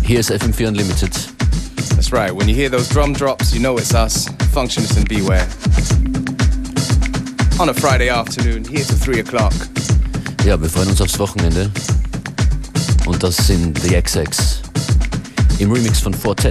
Hier ist FM4 Unlimited. That's right. When you hear those drum drops, you know it's us, Functionist and Beware. On a Friday afternoon, here till 3 o'clock. Ja, wir freuen uns aufs Wochenende. Und das sind The XX im Remix von Fortet.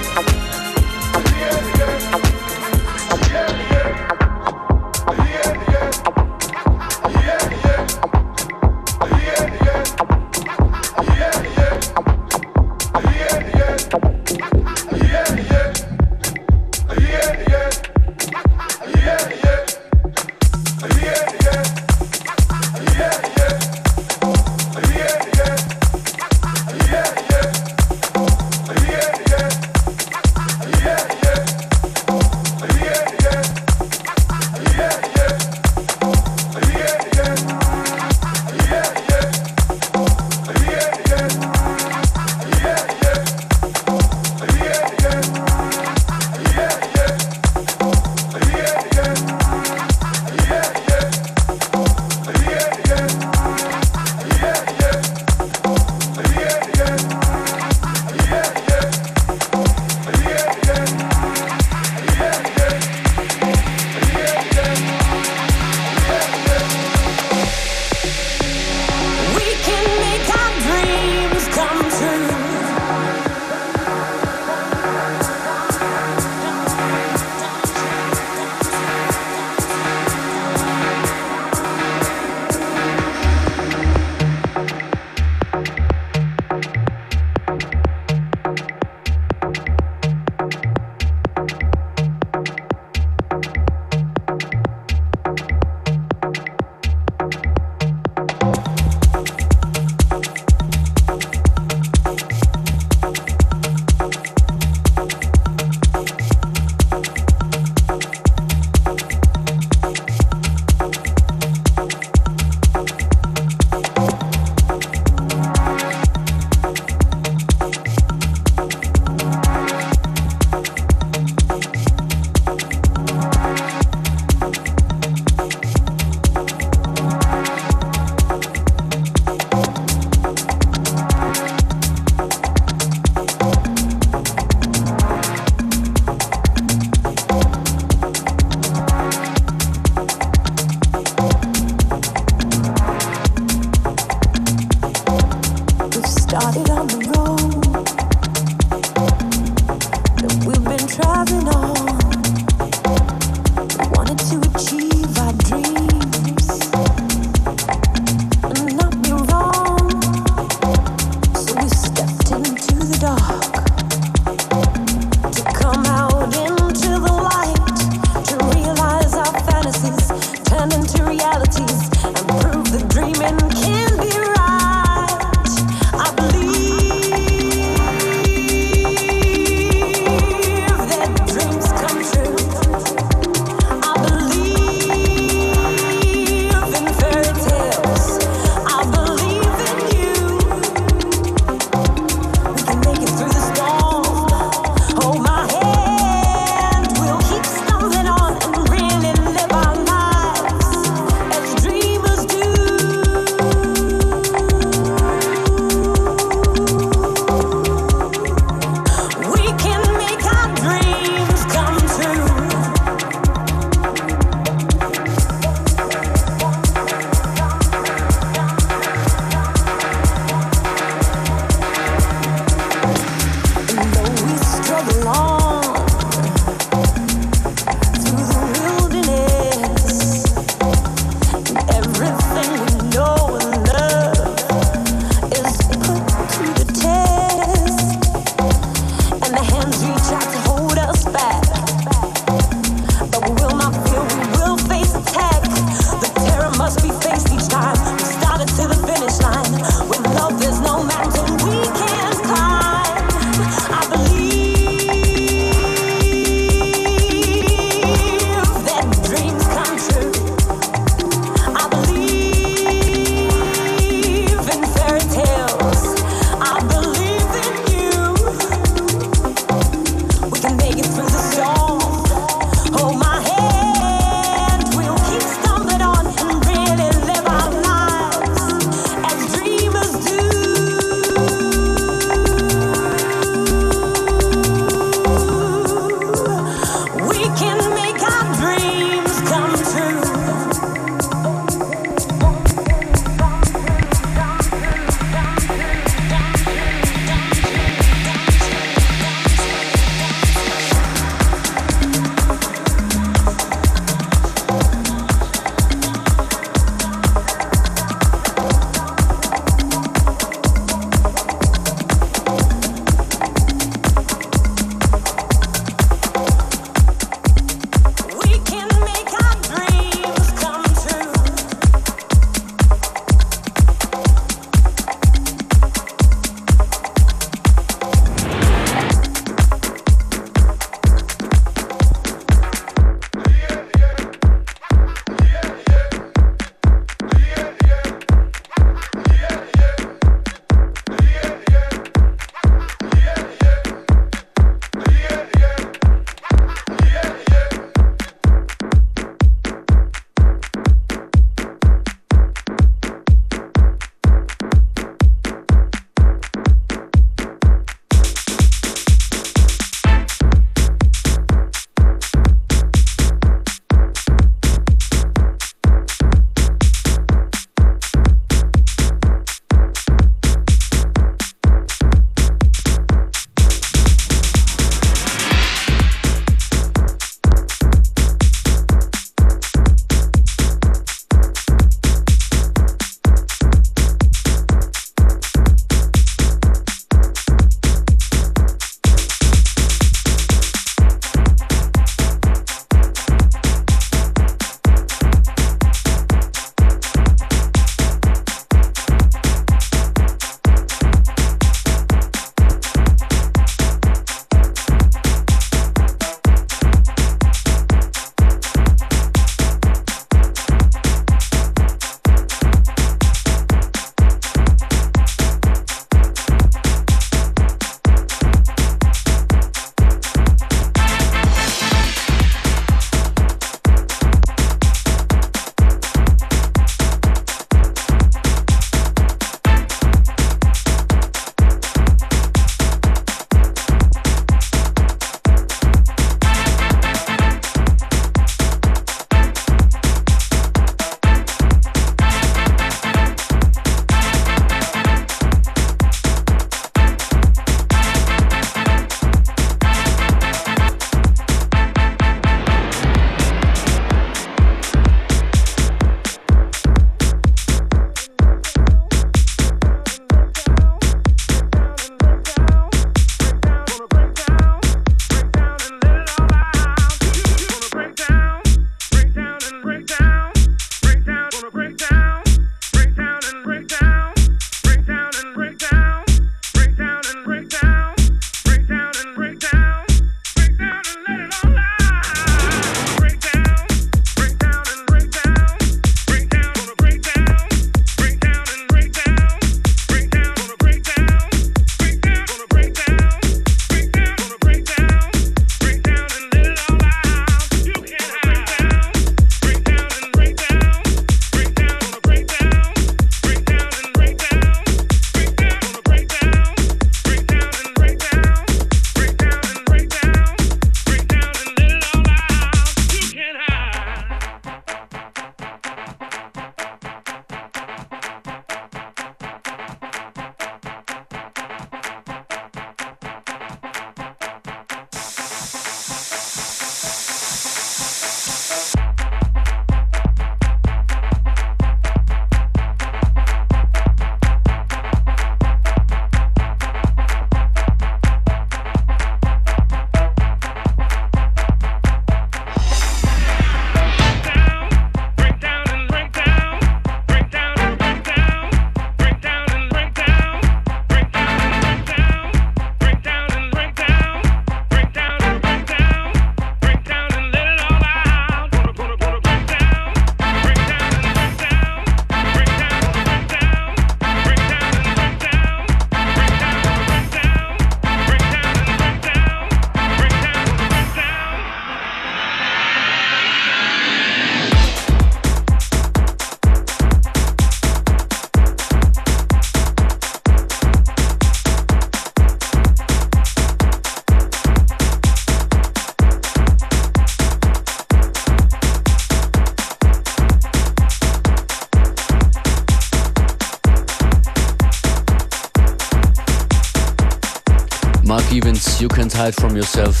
Mark Evans, You Can't Hide From Yourself.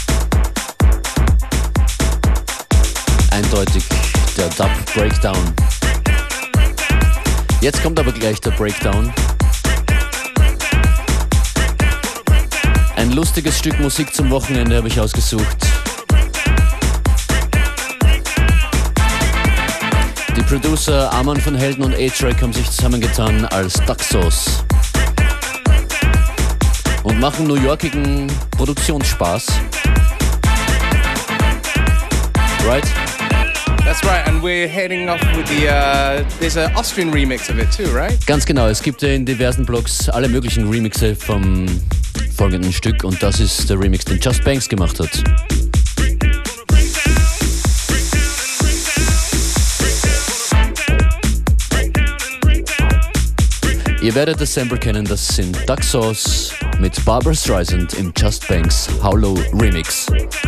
Eindeutig der Dub Breakdown. Jetzt kommt aber gleich der Breakdown. Ein lustiges Stück Musik zum Wochenende habe ich ausgesucht. Die Producer Arman van Helden und A-Track haben sich zusammengetan als Daxos und machen New Yorkigen Produktionsspaß. Right? That's right, and we're heading off with the, there's an Austrian remix of it too, right? Ganz genau, es gibt in diversen Blogs alle möglichen Remixe vom folgenden Stück und das ist der Remix, den Just Banks gemacht hat. Ihr werdet das Sample kennen, das sind Daxos mit Barbra Streisand im Just Banks How Low Remix.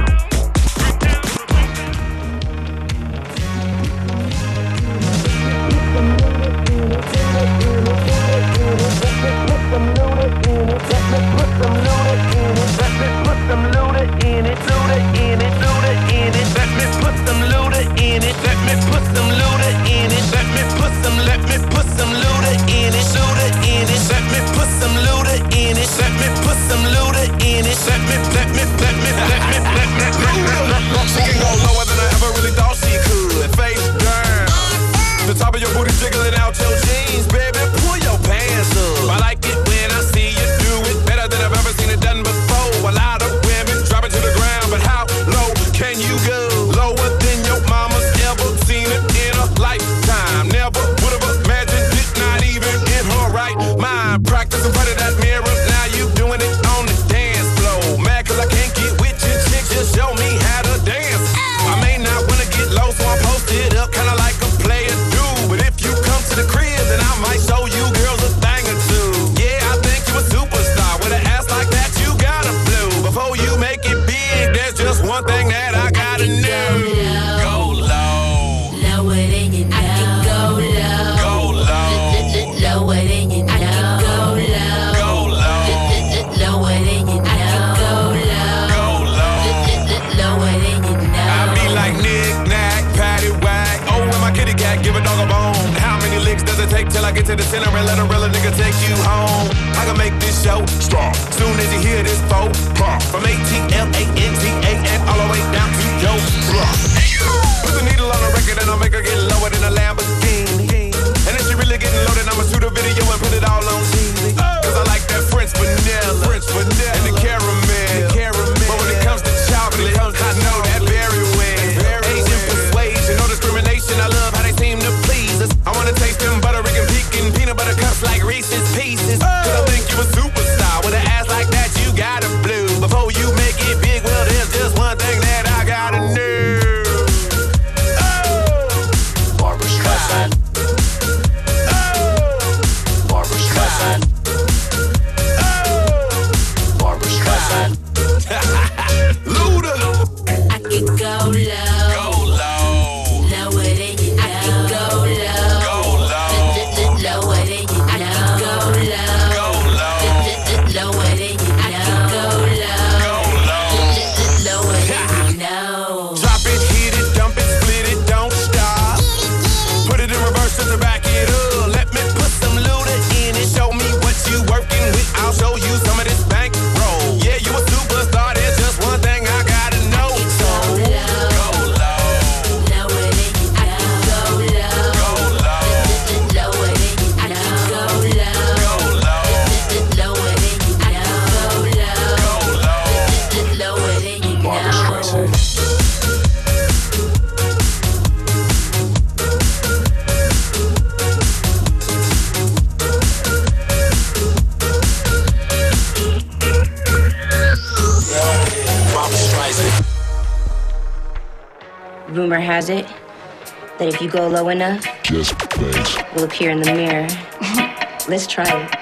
To the center and let a real nigga take you home. I can make this show stop soon as you hear this phone pop. From ATLANTA and all the way down to Joe Block. Put the needle on the record and I'll make her get lower than a Lamborghini. And if she really getting loaded, I'ma shoot a video and put it all on TV. Cause I like that French vanilla and the caramel. But when it comes to chocolate, I know that very well. Asian persuasion, no discrimination. I love how they seem to please us. I wanna taste them butter and peanut butter cups like Reese's Pieces. Cause I think you a superstar. With an ass like that, you gotta blue. Before you make it big, well, there's just one thing that I gotta know. Barbra Streisand. Barbra Streisand. Barbra Streisand. Luda. I can go low. Go low. Lower than you know. I can go low. Go low. Lower than you know. I can go low. Go low. Lower than you know. I can go low. Go low. Lower than you know. Drop it, hit it, dump it, split it, don't stop. Put it in reverse just to back it up. Let me put some Luda in it. Show me what you working with. I'll show you some of this bankroll. Yeah, you a superstar. There's just one thing I gotta know. So go low. Lower than you know. I can go low. Go low. Lower than you know. I can go low. Go low. Lower than you know. I can go low. Go low. Lower than you know. Barbra Streisand. Rumor has it that if you go low enough, Just Banks. we'll appear in the mirror. Let's try it.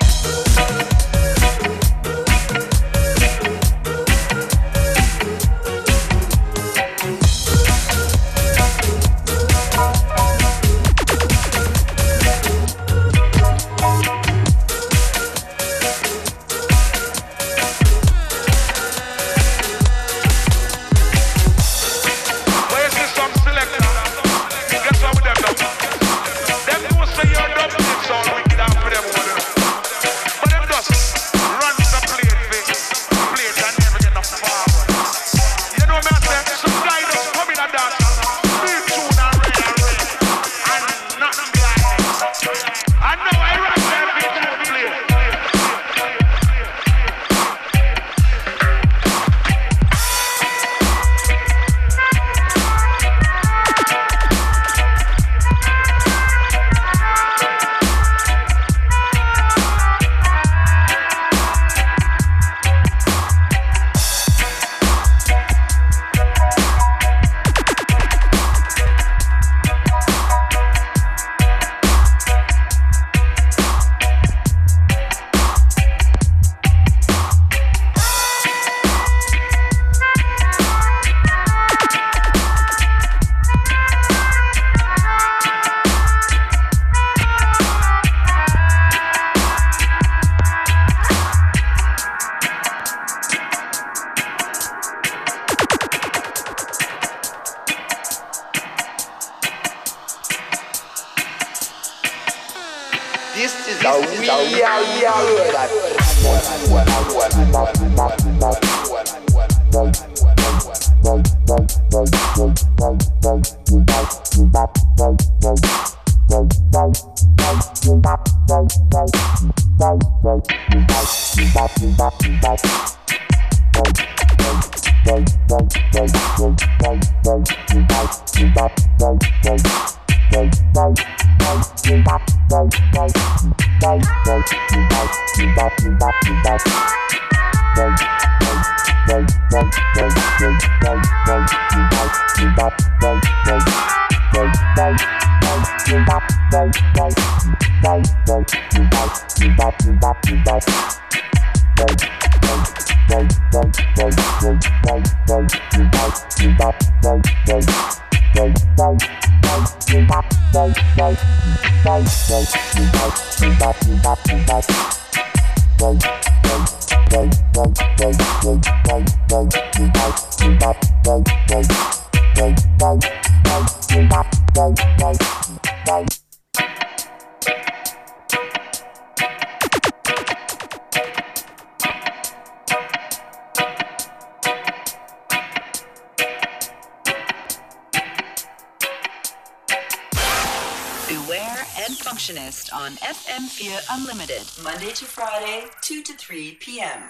Beware and Functionist on FM4 Unlimited, Monday to Friday, 2 to 3 p.m.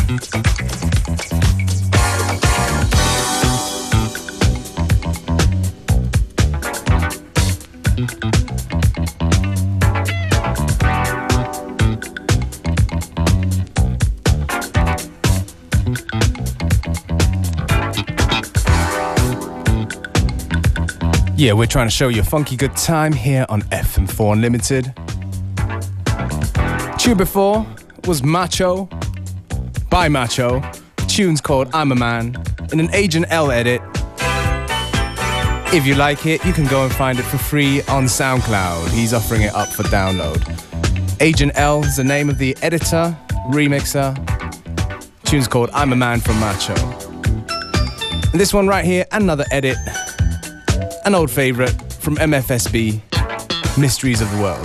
Yeah, we're trying to show you a funky good time here on FM4 Unlimited. Tune before was Macho by Macho. The tune's called I'm a Man in an Agent L edit. If you like it, you can go and find it for free on SoundCloud. He's offering it up for download. Agent L is the name of the editor, remixer. The tune's called I'm a Man from Macho. And this one right here, another edit. An old favorite from MFSB, Mysteries of the World.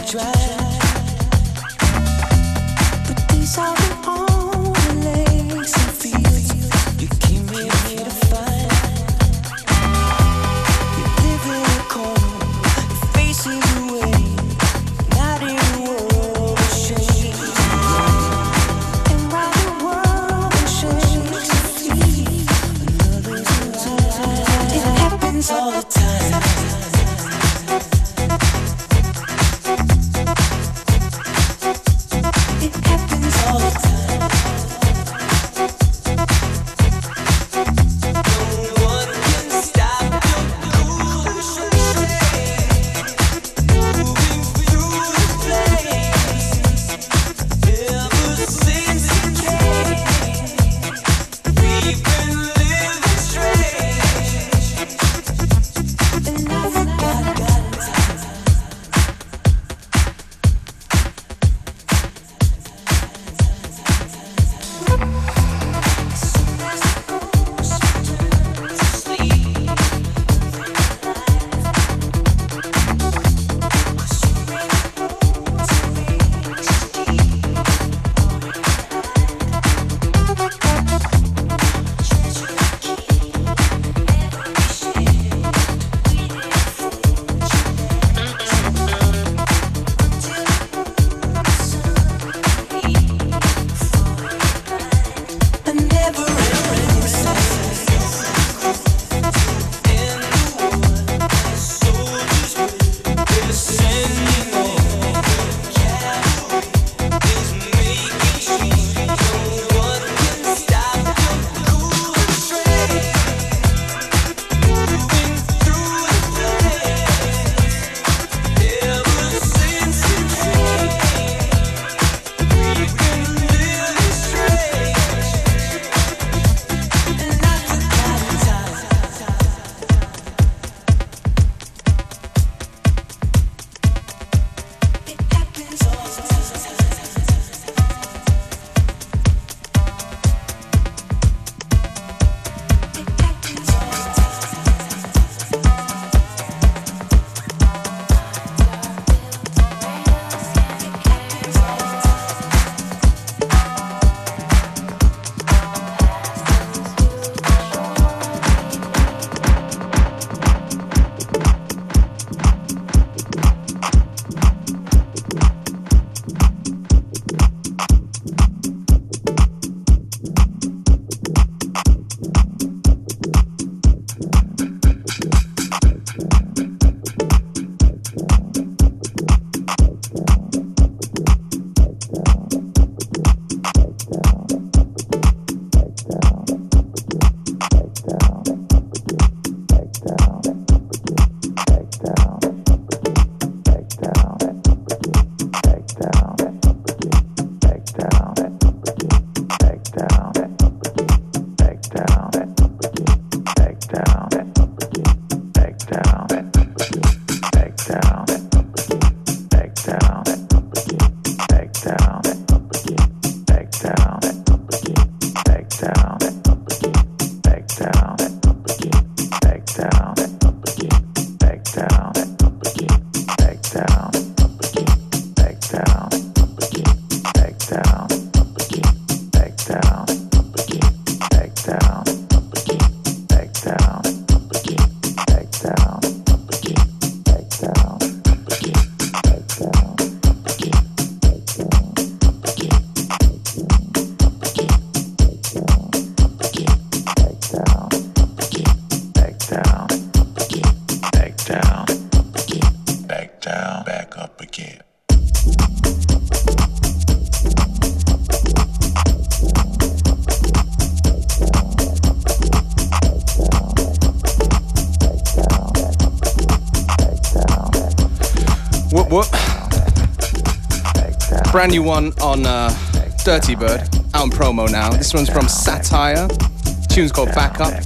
Brand new one on Dirty Bird, out in promo now. This one's from Satire. The tune's called Back Up.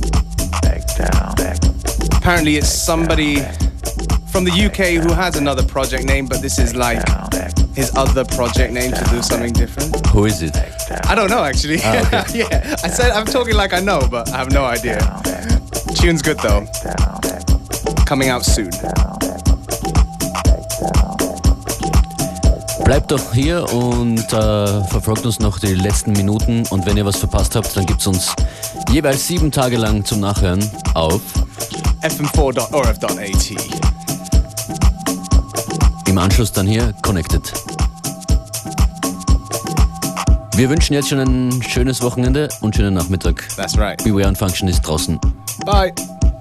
Apparently it's somebody from the UK who has another project name, but this is like his other project name to do something different. Who is it? I don't know actually. Oh, okay. Yeah, I said I'm talking like I know, but I have no idea. Tune's good though. Coming out soon. Bleibt doch hier und verfolgt uns noch die letzten Minuten. Und wenn ihr was verpasst habt, dann gibt's uns jeweils 7 Tage lang zum Nachhören auf fm4.orf.at. Im Anschluss dann hier Connected. Wir wünschen jetzt schon ein schönes Wochenende und schönen Nachmittag. That's right. Beware und Functionist draußen. Bye.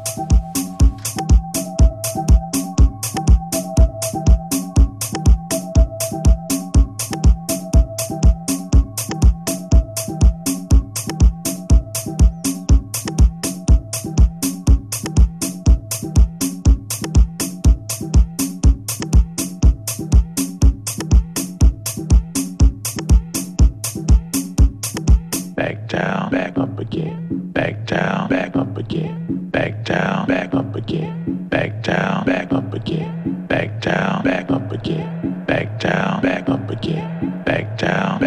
Back down, back up again. Back down, back up again. Back down, back up again. Back down, back up again. Back down, back up again. Back down, back up again. Back down.